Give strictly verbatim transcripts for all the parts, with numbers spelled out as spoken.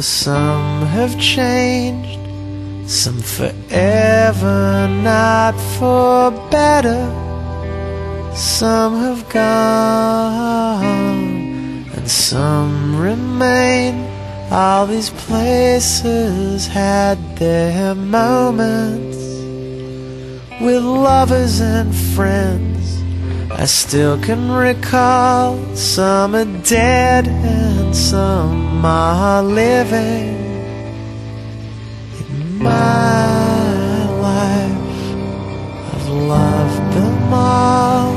For some have changed, some forever, not for better. Some have gone, and some remain. All these places had their moments with lovers and friends. I still can recall. Some are dead and some are living. In my life, I've loved them all.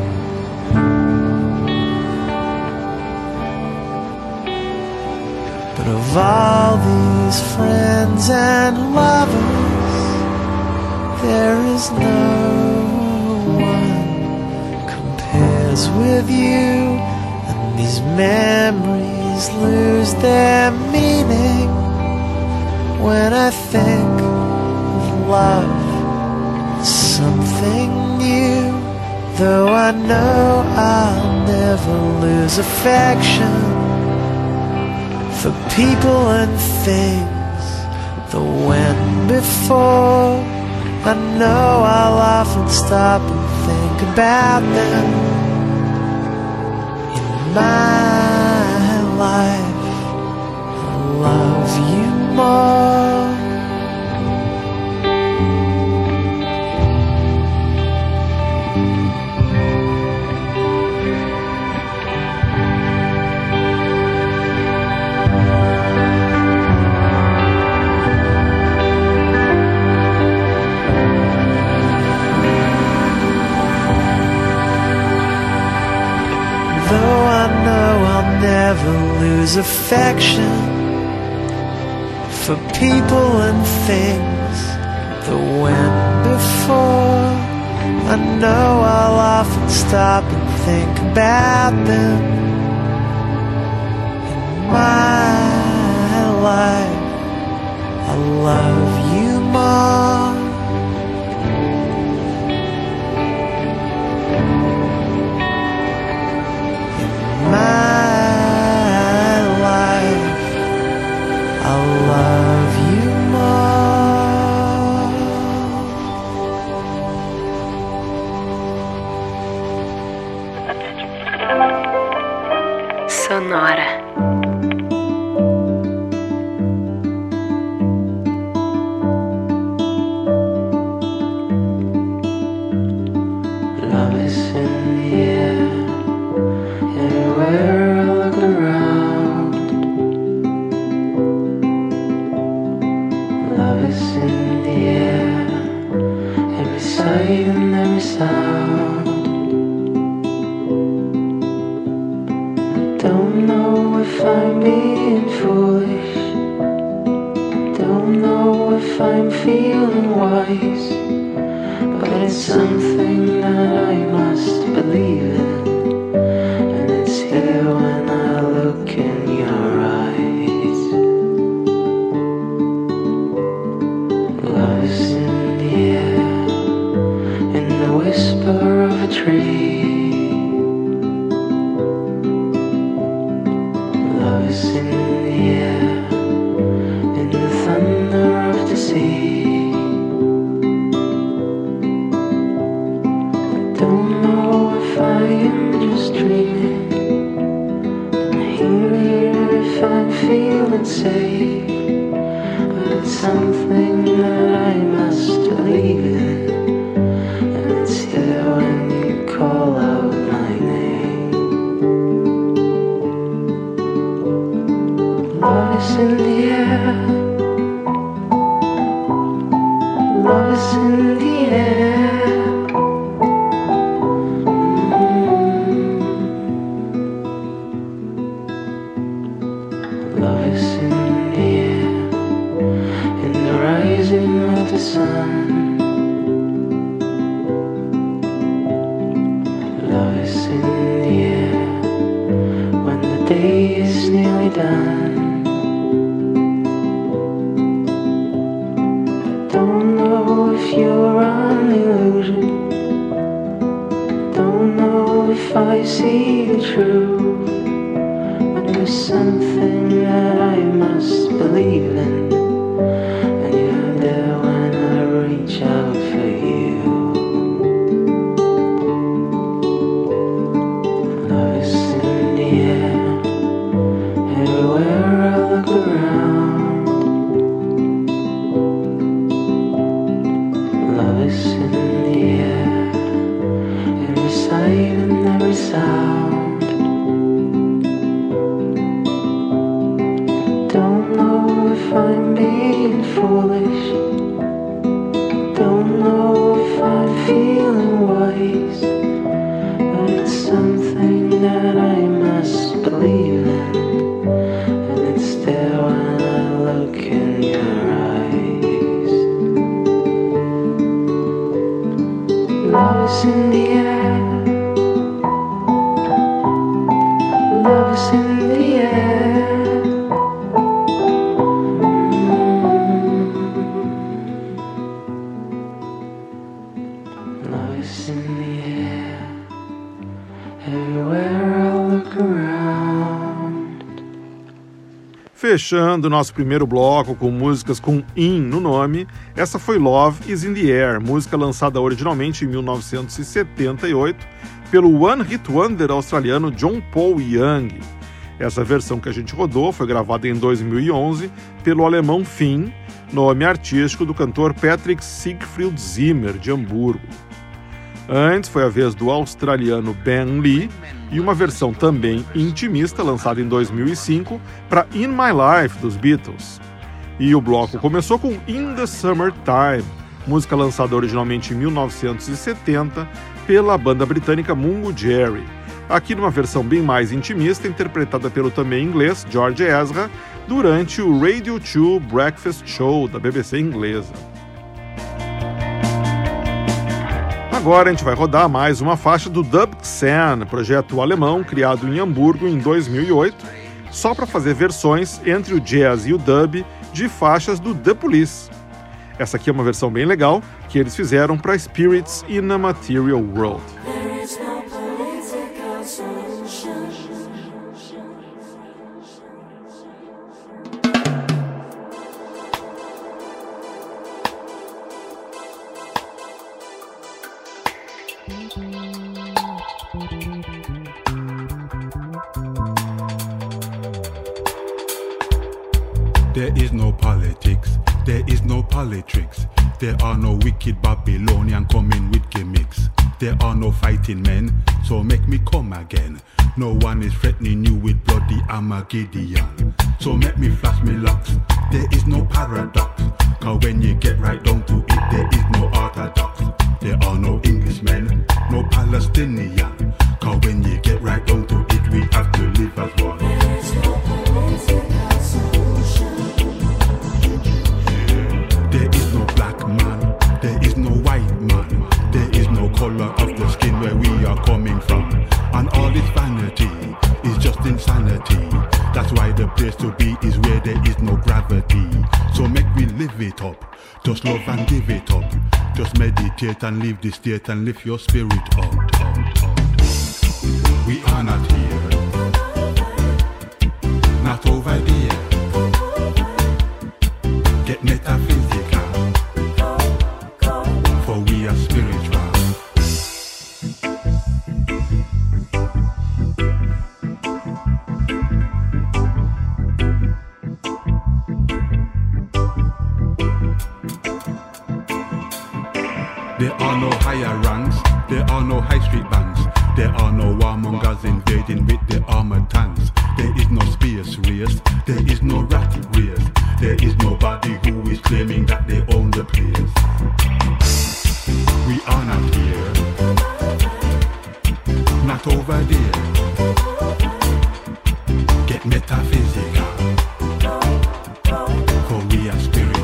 But of all these friends and lovers, there is no one compares with you. And these memories lose their meaning when I think of love, something new. Though I know I'll never lose affection for people and things that went before. I know I'll often stop and think about them. In my life, I'll love you more. Though I know I'll never lose affection for people and things that went before, I know I'll often stop and think about them. In my life, I love you more. My life, I'll love you more. Sonora. Love is in the air. Everywhere I look around, love is in the air, every sight and every sound. I don't know if I'm being foolish, don't know if I'm feeling wise, but it's something that I must believe in. When I look in your eyes, love is in the air, in the whisper of a tree. Love is in the air, in the thunder of the sea. I don't know if I am just dreaming, if I'm feeling safe, but it's something that I must believe in, and it's there when you call out my name. Love is in the air, love is in the air. Love is in the air, in the rising of the sun. Love is in the air, when the day is nearly done. I don't know if you're an illusion, don't know if I see the truth. There's something that I must must believe in. And you're there when I reach out for you. Love is in the air, everywhere I look around. Love is in the air, every sight and every sound. Don't know if I'm being foolish, don't know if I'm feeling wise, but it's something that I must believe in, and it's there when I look in your eyes. Love is in the air, love is in the air. Fechando nosso primeiro bloco com músicas com in no nome, essa foi Love is in the Air, música lançada originalmente em mil novecentos e setenta e oito pelo One Hit Wonder australiano John Paul Young. Essa versão que a gente rodou foi gravada em dois mil e onze pelo alemão Finn, nome artístico do cantor Patrick Siegfried Zimmer, de Hamburgo. Antes foi a vez do australiano Ben Lee e uma versão também intimista lançada em dois mil e cinco para In My Life dos Beatles. E o bloco começou com In the Summertime, música lançada originalmente em mil novecentos e setenta pela banda britânica Mungo Jerry, aqui numa versão bem mais intimista interpretada pelo também inglês George Ezra durante o Radio two Breakfast Show da B B C inglesa. Agora a gente vai rodar mais uma faixa do Dub Xen, projeto alemão criado em Hamburgo em dois mil e oito, só para fazer versões entre o jazz e o dub de faixas do The Police. Essa aqui é uma versão bem legal que eles fizeram para Spirits in a Material World. There is no politics, there is no politricks. There are no wicked Babylonian coming with gimmicks. There are no fighting men, so make me come again. No one is threatening you with bloody Armageddon. So make me flash me locks, there is no paradox. Cause when you get right down to it, there is no orthodox. There are no Englishmen, no Palestinian. Cause when you get right down to it, we have to live as one. There is no political solution. There is no black man, there is no white man. There is no color of the skin where we are coming from. And all this vanity is just insanity. That's why the place to be is where there is no gravity. So make me live it up, just love and give it up. Just meditate and leave the state and lift your spirit up, up, up. We are not here, not over there. Get metaphysical, for we are spiritual. There are no higher ranks, there are no high street bands. There are no warmongers invading with their armored tanks. There is no space race, there is no rat race. There is nobody who is claiming that they own the place. We are not here, not over there. Get metaphysical, for we are spiritual.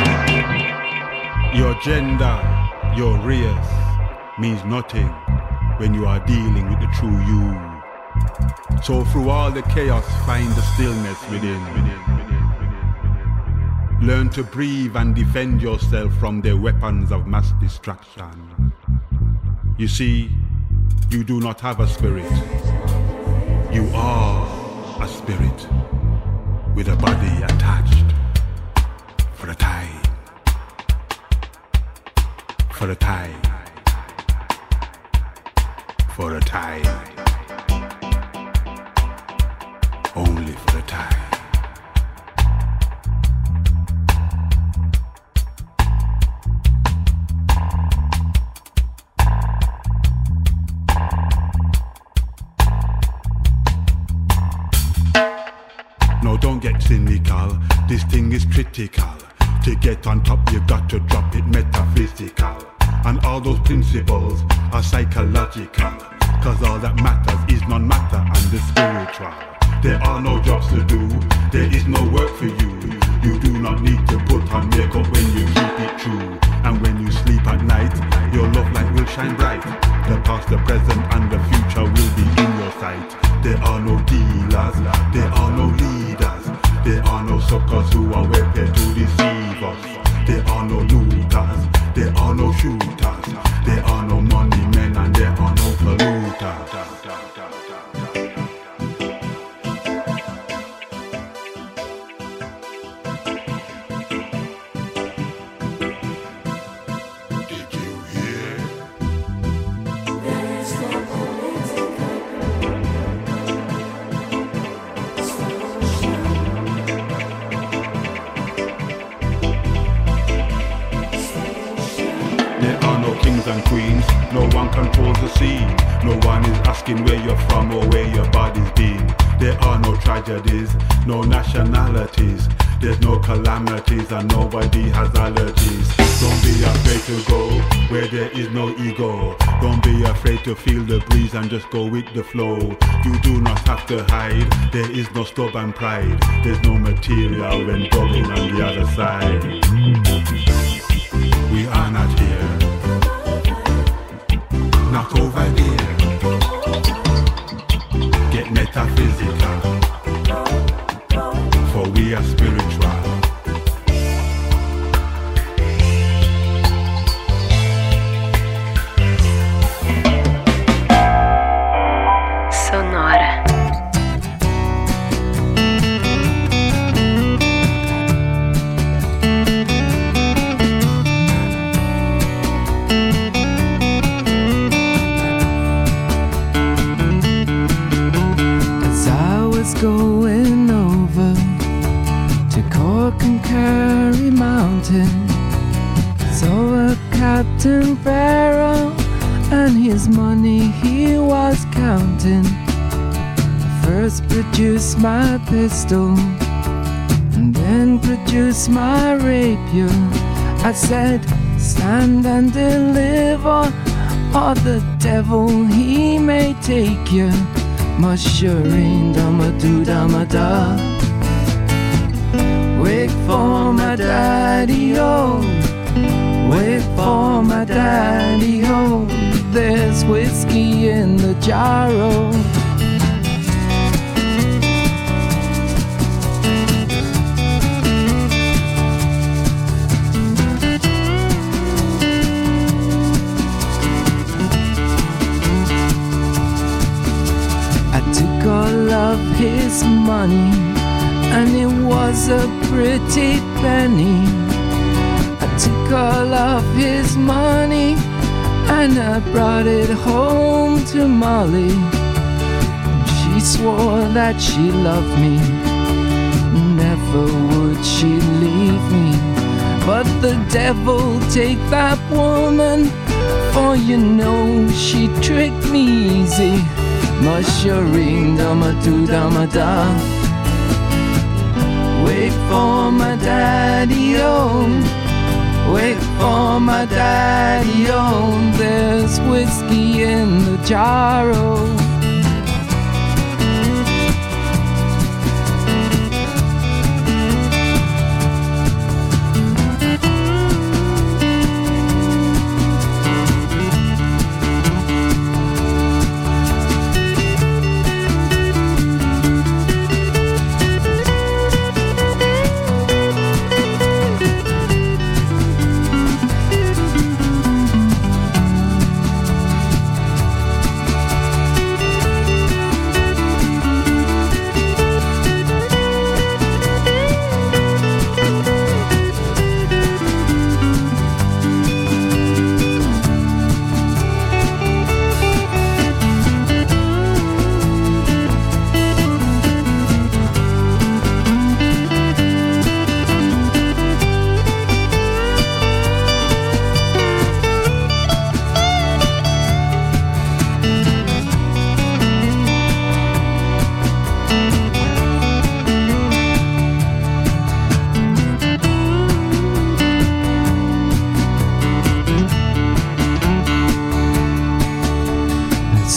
Your gender, your race means nothing. when you are dealing with the true you. So through all the chaos, find the stillness within. Learn to breathe and defend yourself from the weapons of mass destruction. You see, you do not have a spirit. You are a spirit with a body attached for a time. For a time. For a time. Only for a time. No, don't get cynical. This thing is critical. To get on top, you got to drop it metaphysical. And all those principles are psychological. Cause all that matters is non-matter and the spiritual. There are no jobs to do, there is no work for you. You do not need to put on makeup when you keep it true. And when you sleep at night, your love light will shine bright. The past, the present and the future will be in your sight. There are no dealers, there are no leaders. There are no suckers who are prepared to deceive us. There are no looters, there are no shooters. There are no money men and there are no polluters. And queens, no one controls the sea. No one is asking where you're from or where your body's been. There are no tragedies, no nationalities. There's no calamities and nobody has allergies. Don't be afraid to go where there is no ego. Don't be afraid to feel the breeze and just go with the flow. You do not have to hide, there is no stubborn pride. There's no material when going on the other side. We are not here. Not over there. Get metaphysical. For we are spiritual. Sonora. Going over to Cork and Kerry Mountain, saw a Captain Farrell and his money he was counting. I first produced my pistol and then produced my rapier. I said, stand and deliver, or the devil he may take you. Mushering dama do dama da. Wait for my daddy oh, wait for my daddy oh. There's whiskey in the jar oh. All of his money, and it was a pretty penny. I took all of his money and I brought it home to Molly. She swore that she loved me, never would she leave me. But the devil take that woman, for you know she tricked me easy. Mushering dama do dama da. Wait for my daddy oh, wait for my daddy oh. There's whiskey in the jar oh.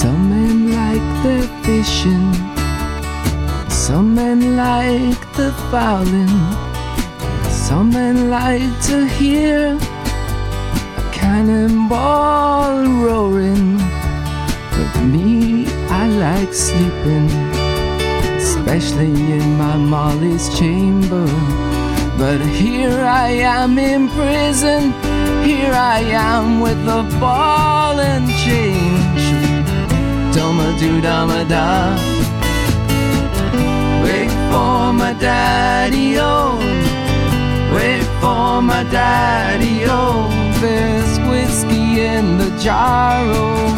Some men like their fishing, some men like the violin, some men like to hear a cannonball roaring. But me, I like sleeping, especially in my Molly's chamber. But here I am in prison, here I am with a ball and chain. Dum-a-doo-dum-a-da, wait for my daddy-o, wait for my daddy-o, there's whiskey in the jar-o.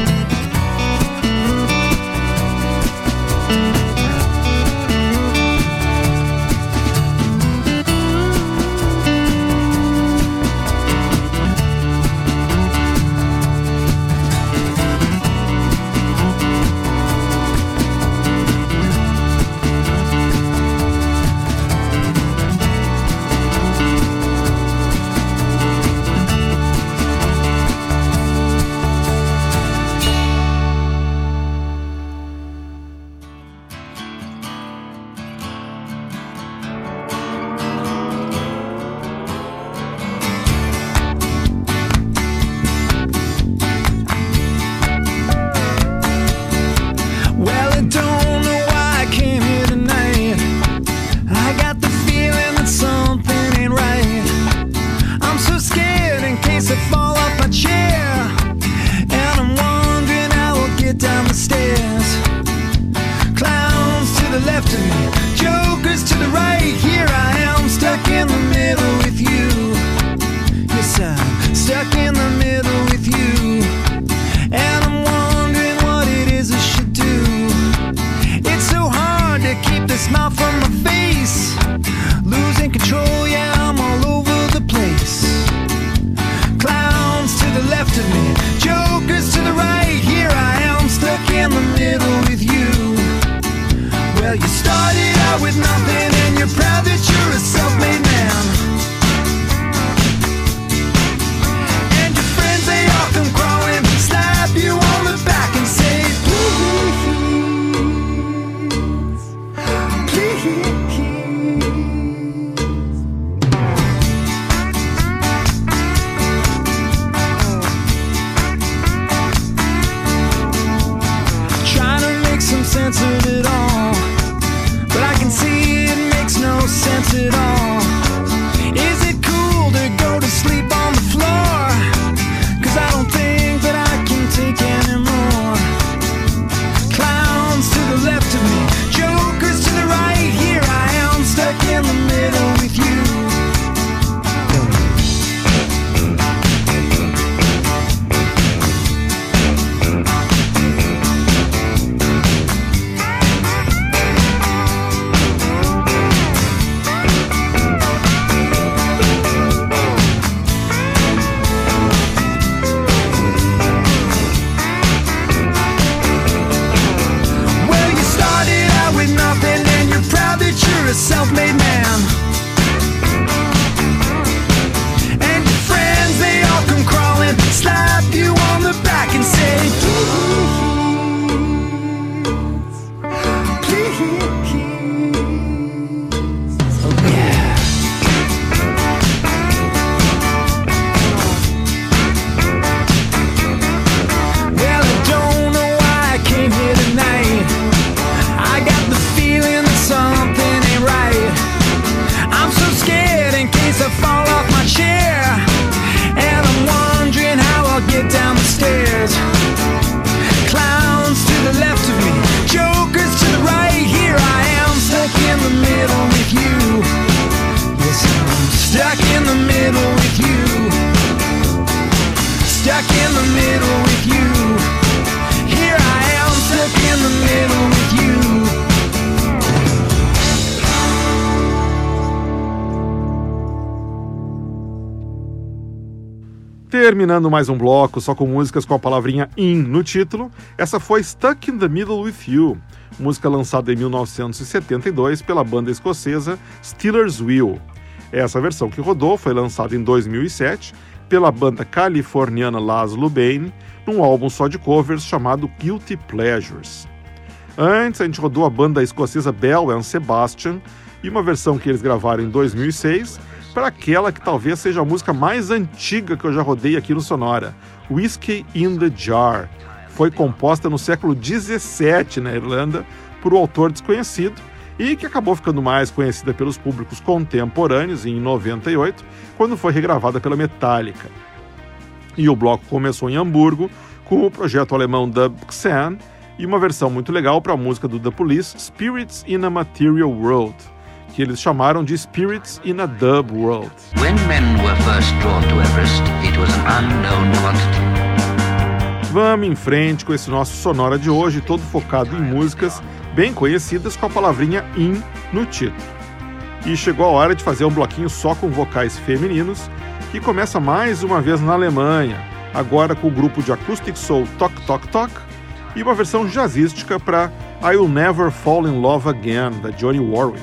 Terminando mais um bloco só com músicas com a palavrinha in no título, essa foi Stuck in the Middle with You, música lançada em mil novecentos e setenta e dois pela banda escocesa Stealers Wheel. Essa versão que rodou foi lançada em dois mil e sete, pela banda californiana Laszlo Bane, num álbum só de covers chamado Guilty Pleasures. Antes, a gente rodou a banda escocesa Bell and Sebastian e uma versão que eles gravaram em dois mil e seis para aquela que talvez seja a música mais antiga que eu já rodei aqui no Sonora, Whiskey in the Jar. Foi composta no século dezessete na Irlanda por um autor desconhecido e que acabou ficando mais conhecida pelos públicos contemporâneos em noventa e oito, quando foi regravada pela Metallica. E o bloco começou em Hamburgo com o projeto alemão Dub Xen e uma versão muito legal para a música do The Police, Spirits in a Material World, que eles chamaram de Spirits in a Dub World. When men were first drawn to Everest, it was an unknown quantity. Vamos em frente com esse nosso Sonora de hoje, todo focado em músicas bem conhecidas com a palavrinha in no título. E chegou a hora de fazer um bloquinho só com vocais femininos, que começa mais uma vez na Alemanha, agora com o grupo de acoustic soul Tok Tok Tok e uma versão jazzística para I'll Never Fall in Love Again, da Johnny Warwick.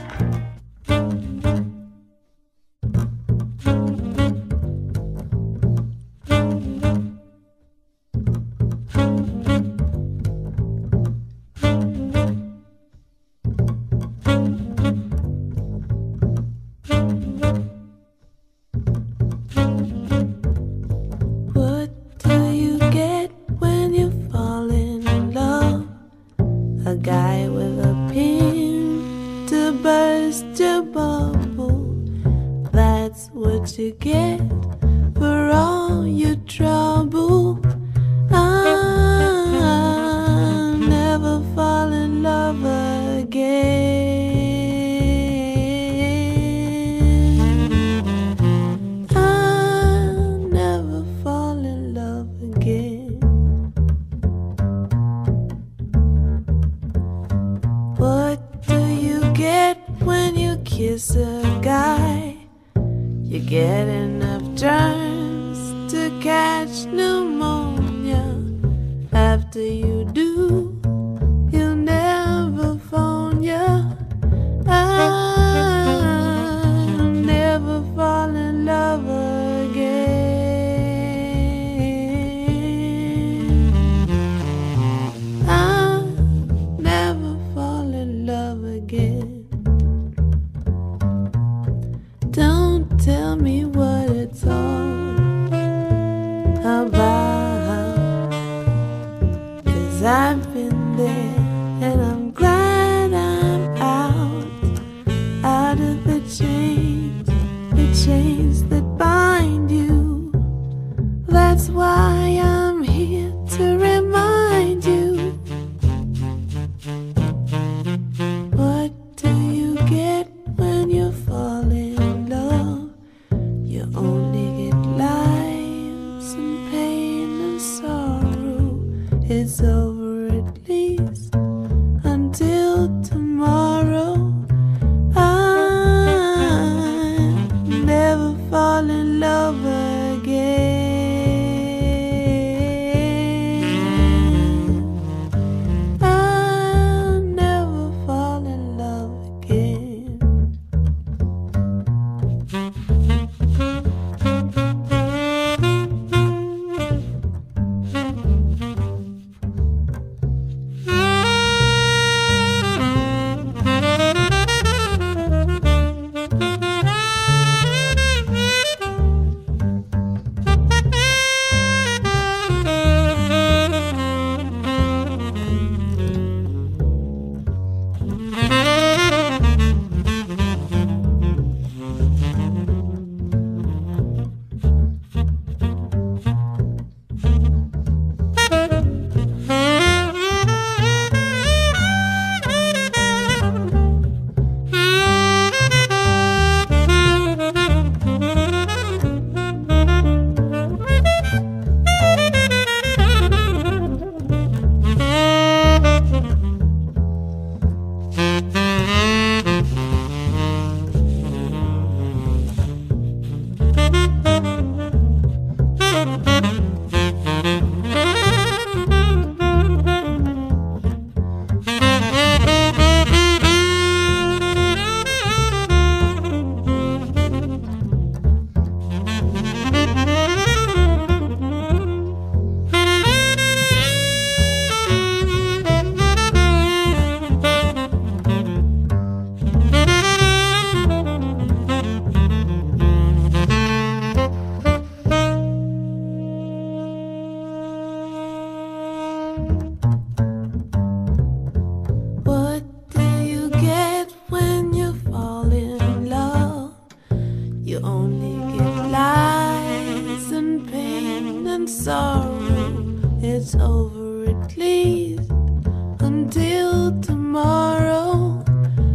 and sorrow, it's over at least until tomorrow.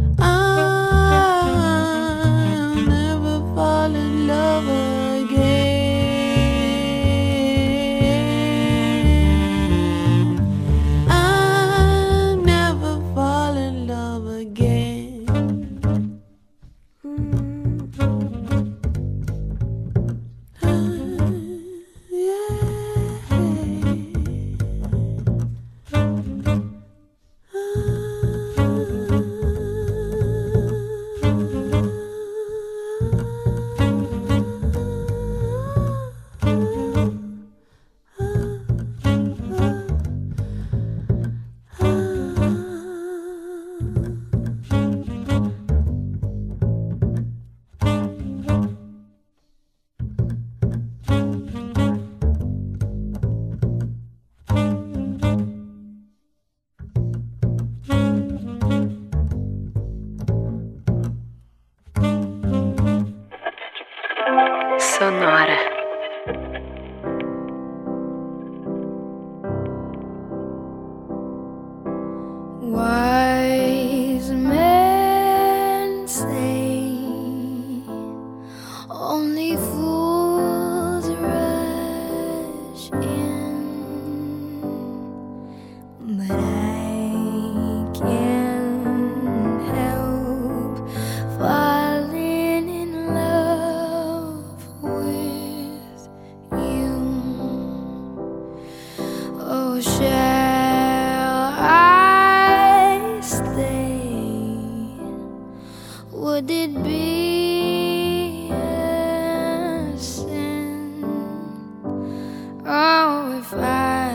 I'll never fall in love again. I'll never fall in love again. Mm. Sonora. Wise men say only fools rush in, but I can't help falling in love with you. Oh, shall I stay? Would it be a sin? Oh, if I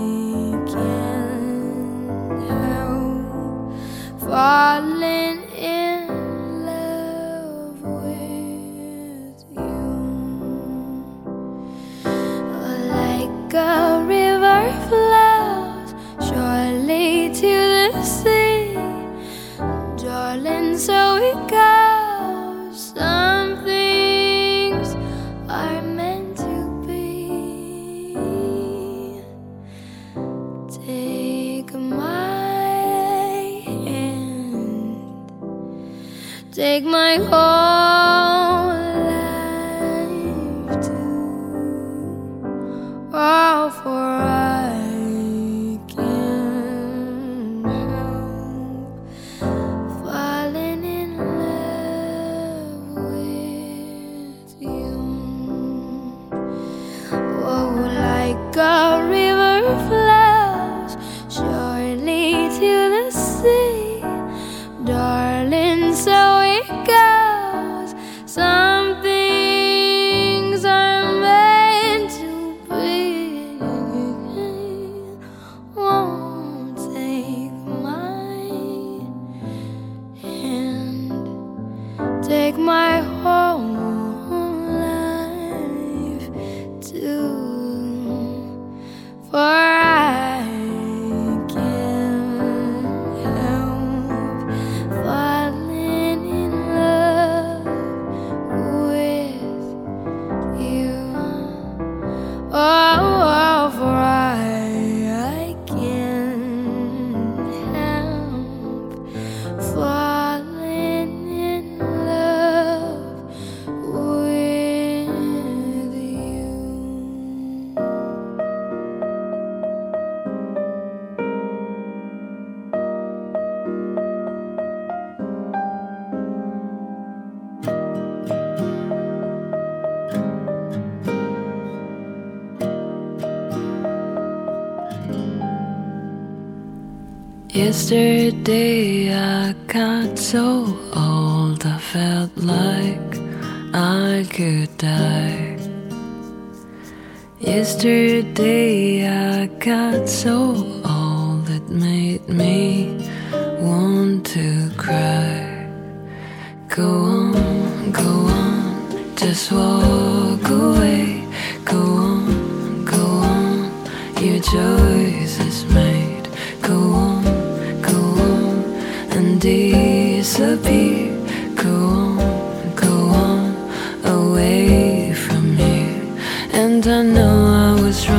can't help falling in love with you. Like a river flows surely to the sea, darling, so it goes. Some things are meant to be. Take my hand, take my whole life too. Oh, for I can't help falling in love with you. Oh, like a river flows surely to the sea, darling, so it goes. Some things are meant to be. Won't take my hand, take my whole life too, for I can't help falling in love with you. Oh, oh, for I, I can't help falling in love with you. Yesterday I got so old I felt like I could die. Yesterday I got so old it made me want to cry. Go on, go on, just walk away. Go on, go on, your choice is made. Go on, go on, and disappear. Go on, go on, away from here. And I know I was wrong.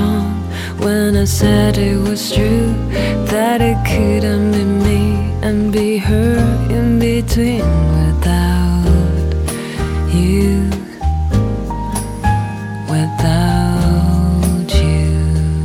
I said it was true, that it couldn't be me and be her in between without you, without you.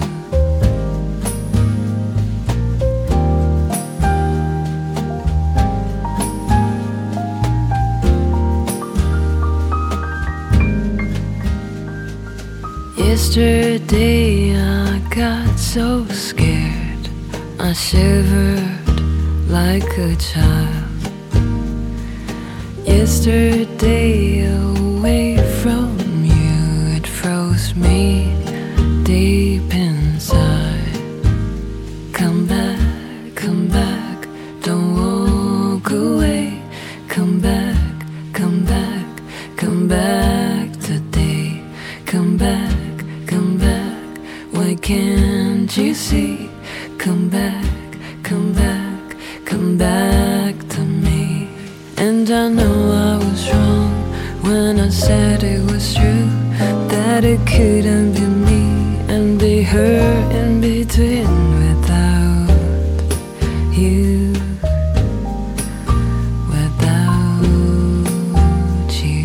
Yesterday I got so scared, I shivered like a child. Yesterday away from you, it froze me deep inside. Come back, come back, don't walk away. Come back, come back, come back today. Come back, come back, why can't you see? Come back, come back, come back to me. And I know I was wrong when I said it was true, that it couldn't be me and be her in between without you, without you.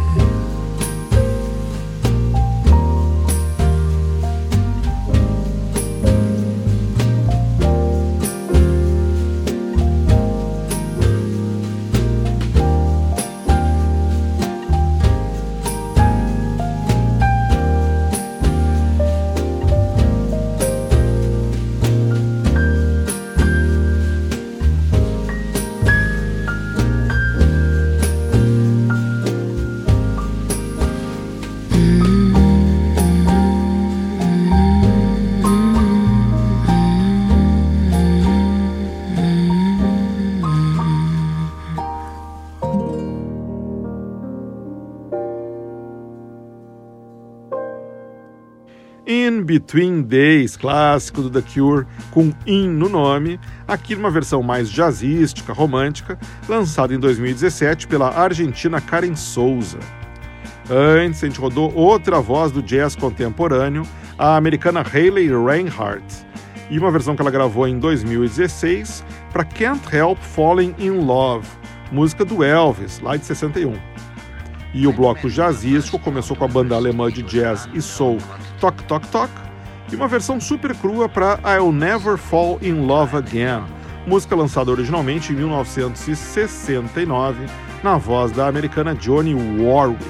In Between Days, clássico do The Cure, com In no nome, aqui numa versão mais jazzística, romântica, lançada em dois mil e dezessete pela argentina Karen Souza. Antes, a gente rodou outra voz do jazz contemporâneo, a americana Hayley Reinhardt, e uma versão que ela gravou em dois mil e dezesseis para Can't Help Falling in Love, música do Elvis, lá de sessenta e um. E o bloco jazzístico começou com a banda alemã de jazz e soul Tok Tok Tok e uma versão super crua para I'll Never Fall in Love Again, música lançada originalmente em mil novecentos e sessenta e nove na voz da americana Dionne Warwick.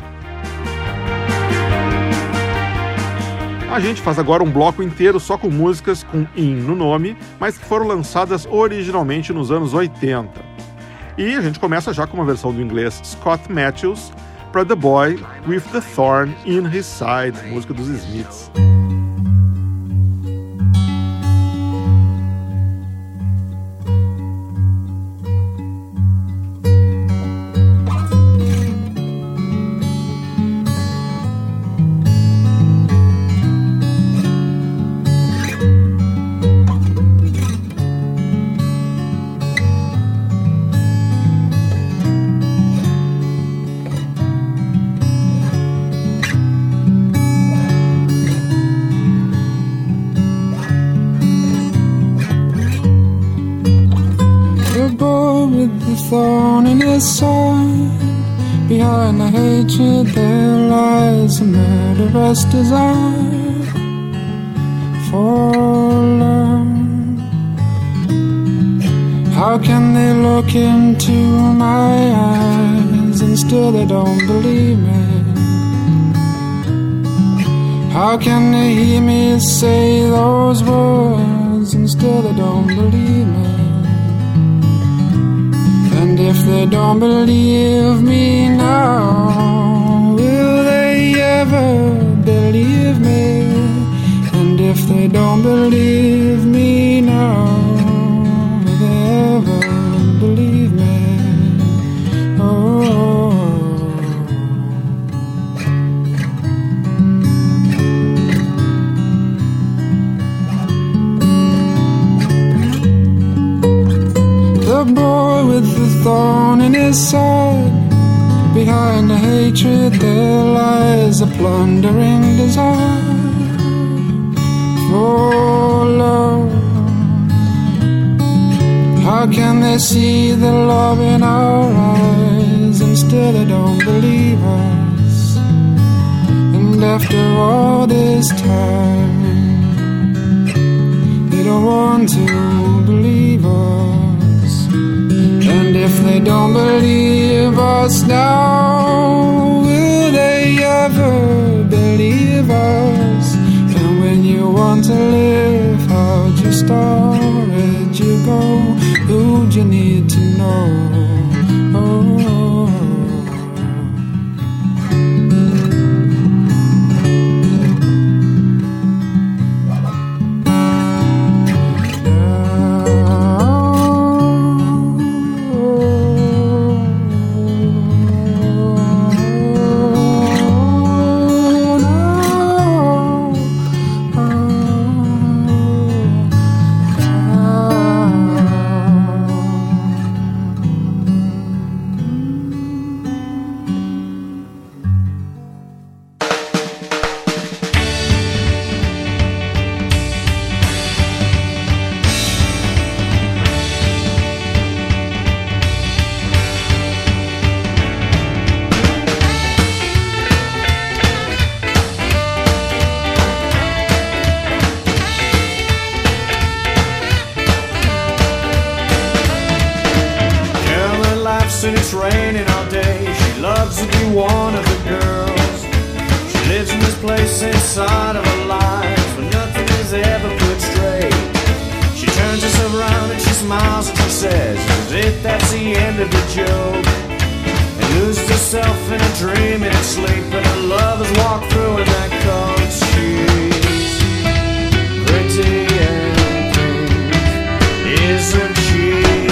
A gente faz agora um bloco inteiro só com músicas com In no nome, mas que foram lançadas originalmente nos anos oitenta. E a gente começa já com uma versão do inglês Scott Matthews para The Boy with the Thorn in His Side, música dos Smiths. Thorn in his side. Behind the hatred there lies a murderous desire for love. How can they look into my eyes and still they don't believe me? How can they hear me say those words and still they don't believe me? And if they don't believe me now, will they ever believe me? And if they don't believe me now, will they ever believe me? Oh. The boy with the thorn in his side. Behind the hatred there lies a plundering desire for How can they see the love in our eyes and still they don't believe us? And after all this time, they don't want to believe us. And if they don't believe us now, will they ever believe us? And when you want to live, how'd you start? Where'd you go? Who'd you need to know? Oh. And it's raining all day. She loves to be one of the girls. She lives in this place inside of her life where nothing is ever put straight. She turns herself around and she smiles and she says, "Is it that's the end of the joke?" And loses herself in a dream in her sleep, and her lovers walk through in that coat. She's pretty and pink, isn't she?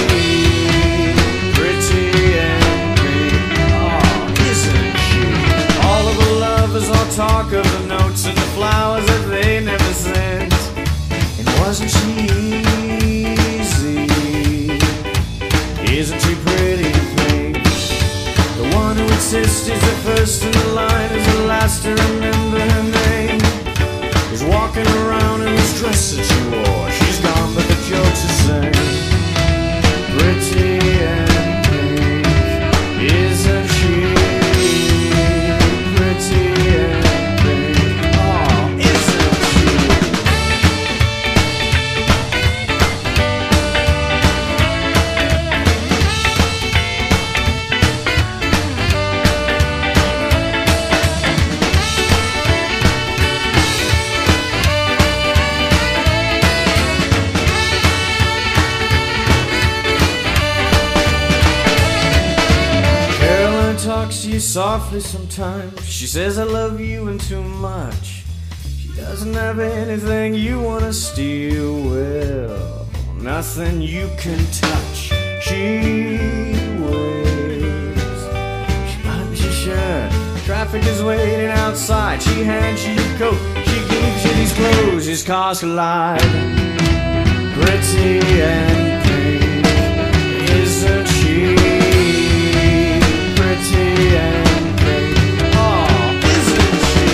Talk of the notes and the flowers that they never sent. And wasn't she easy? Isn't she pretty and pink? The one who insists is the first in the line, is the last to remember her name. Is walking around in this dress that she wore. She's gone but the joke's the same. Pretty and pink, isn't she? Pretty and talks to you softly sometimes. She says I love you and too much. She doesn't have anything you wanna steal. Well, nothing you can touch. She waves. She buttons your shirt. Traffic is waiting outside. She hands you your coat. She gives you these clothes. His cars collide. Pretty and pink, isn't she? Pretty and pink, oh, isn't she?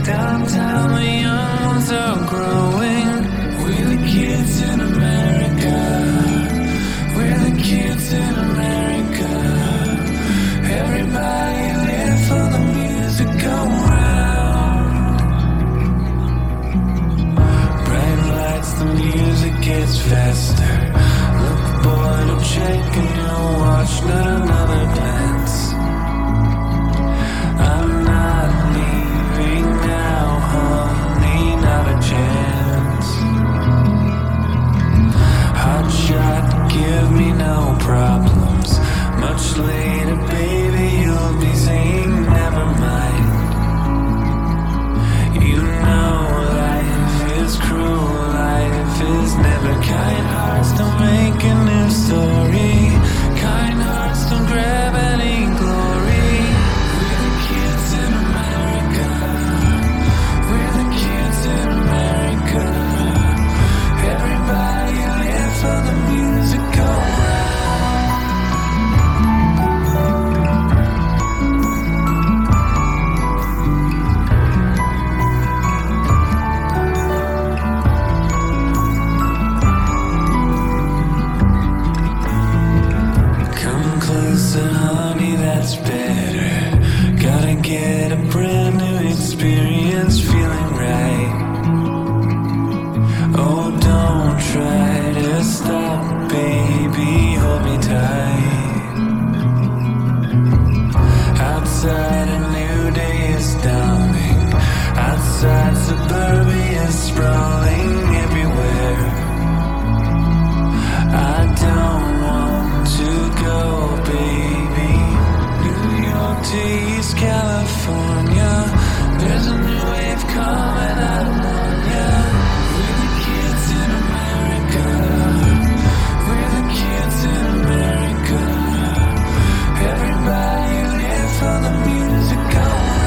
Downtown the young ones are growing. We're the kids in America. We're the kids in America. Everybody live for the music go round. Bright lights, the music gets faster. Look boy to check and you'll watch, not another glance. I'm not leaving now, honey, not a chance. Hot shot, give me no problems. Much later, baby, you'll be saying never mind. You know life is cruel, life is never kind. Hearts don't make a new story. Kind hearts don't grab any glory. We're the kids in America. We're the kids in America. Everybody live for the music go round. Honey, that's better. Gotta get a brand new experience, feeling right. Oh, don't try to stop, baby, hold me tight. Outside a new day is dawning. Outside suburbia is sprawling everywhere. I don't want to go, baby. New York to East California. There's a new wave coming out on ya. We're the kids in America. We're the kids in America. Everybody live for the music go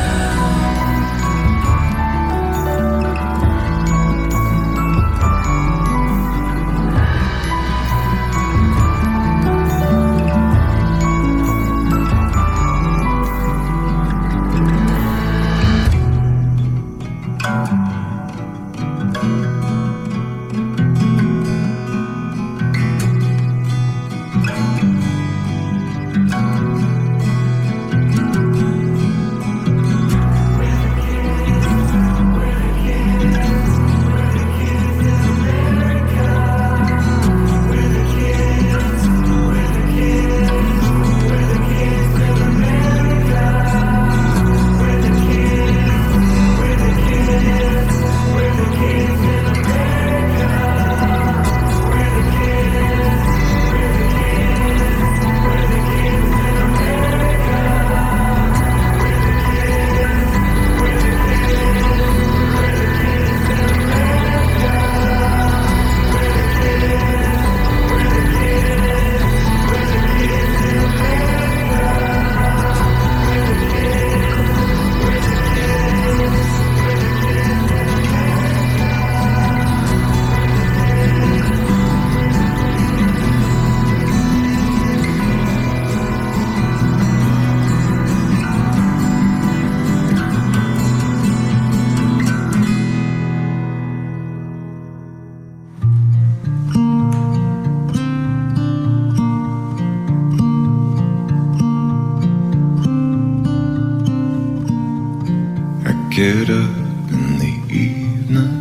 get up in the evening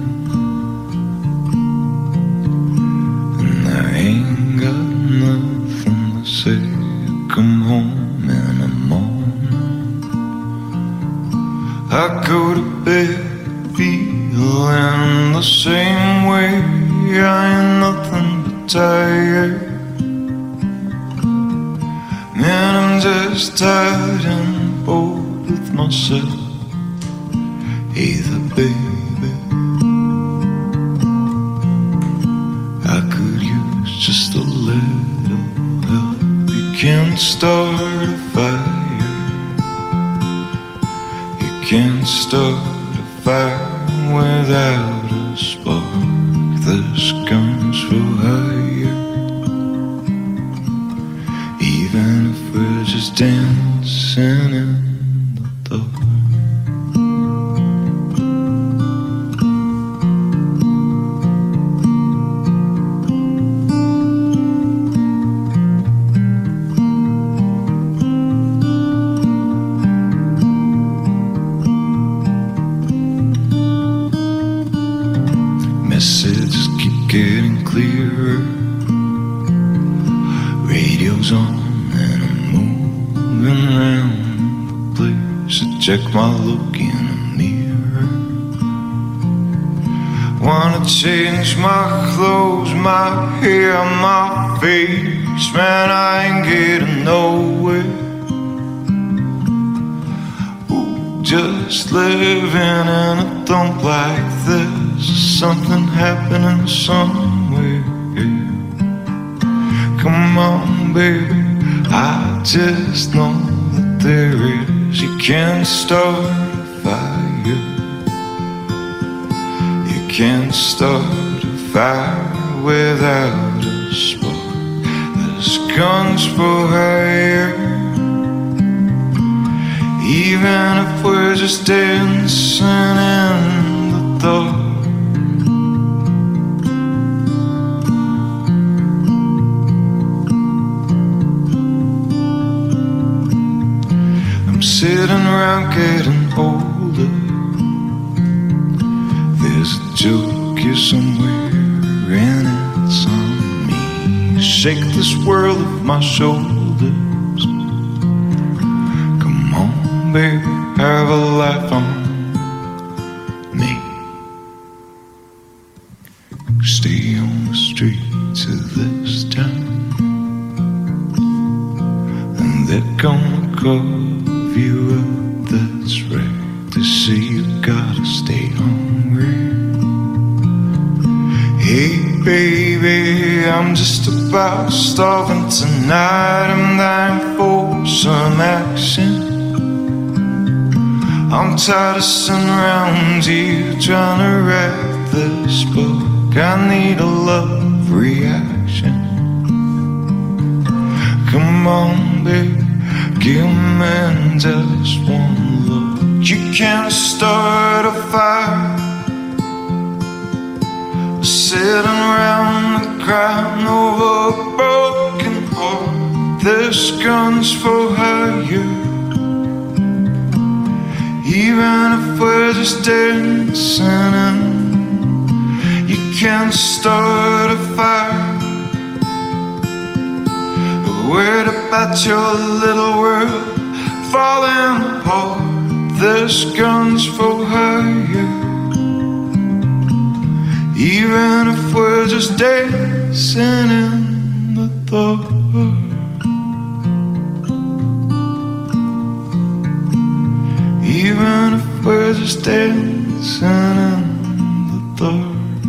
and I ain't got nothing to say. Come home in the morning, I go to bed feeling the same way. I ain't nothing but tired. Man, I'm just tired and bored with myself. Either, baby, I could use just a little help. You can't start a fire. You can't start a fire without a spark. This gun's for hire. Even if we're just dancing in the dark. check my look in a mirror. Wanna change my clothes, my hair, my face. Man, I ain't getting nowhere. Ooh, just living in a dump like this. Something happening somewhere. Come on, baby, I just know that there is. You can't start a fire. You can't start a fire without a spark. There's guns for hire. Even if we're just dancing in the dark. Sitting around getting older. There's a joke here somewhere and it's on me. Shake this world off my shoulders. Come on, baby, have a laugh on me. Stay on the streets of this town, and they're gonna call you up, that's right. To see you gotta stay hungry. Hey baby, I'm just about starving tonight. I'm dying for some action. I'm tired of sitting around you trying to write this book. I need a love reaction. Come on baby, give me just one look. You can't start a fire. Sitting around and crying over a broken heart. This gun's for hire. Even if we're just dancing in, you can't start a fire. Worried about your little world falling apart. This gun's for hire. Even if we're just dancing in the dark. Even if we're just dancing in the dark.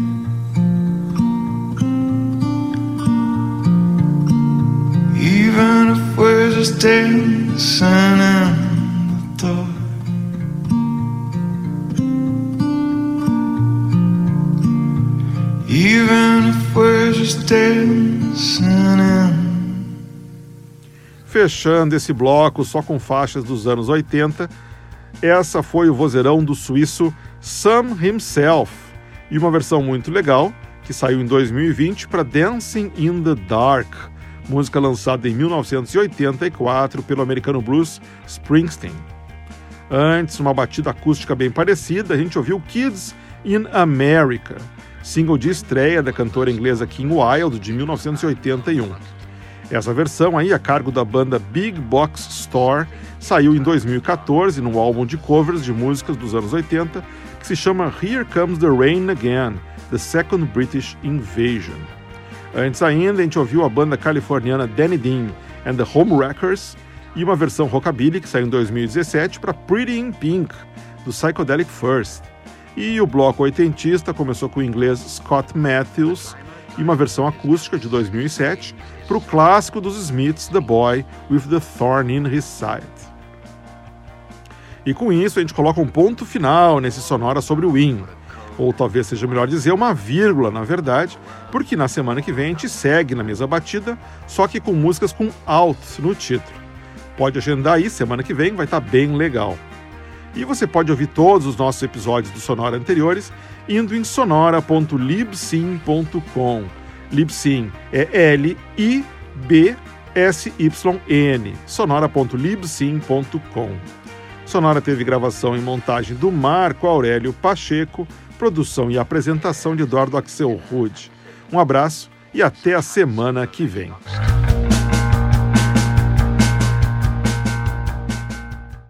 Even if we're just dancing in the dark. Even if we're just dancing in. Fechando esse bloco só com faixas dos anos oitenta, essa foi o vozeirão do suíço Sam Himself, e uma versão muito legal que saiu em dois mil e vinte para Dancing in the Dark, música lançada em mil novecentos e oitenta e quatro pelo americano Bruce Springsteen. Antes, uma batida acústica bem parecida, a gente ouviu Kids in America, single de estreia da cantora inglesa Kim Wilde, de mil novecentos e oitenta e um. Essa versão aí, a cargo da banda Big Box Store, saiu em dois mil e catorze num álbum de covers de músicas dos anos oitenta que se chama Here Comes the Rain Again, The Second British Invasion. Antes ainda, a gente ouviu a banda californiana Danny Dean and the Homewreckers e uma versão rockabilly que saiu em dois mil e dezessete para Pretty in Pink, do Psychedelic First. E o bloco oitentista começou com o inglês Scott Matthews e uma versão acústica de dois mil e sete para o clássico dos Smiths, The Boy with the Thorn in His Side. E com isso a gente coloca um ponto final nesse Sonora sobre o Ween, ou talvez seja melhor dizer uma vírgula, na verdade, porque na semana que vem a gente segue na mesma batida, só que com músicas com alt no título. Pode agendar aí, semana que vem vai estar bem legal. E você pode ouvir todos os nossos episódios do Sonora anteriores indo em sonora ponto libsyn ponto com. Libsyn é L I B S Y N, sonora ponto libsyn ponto com. Sonora teve gravação e montagem do Marco Aurélio Pacheco, produção e apresentação de Eduardo Axel Rude. Um abraço e até a semana que vem.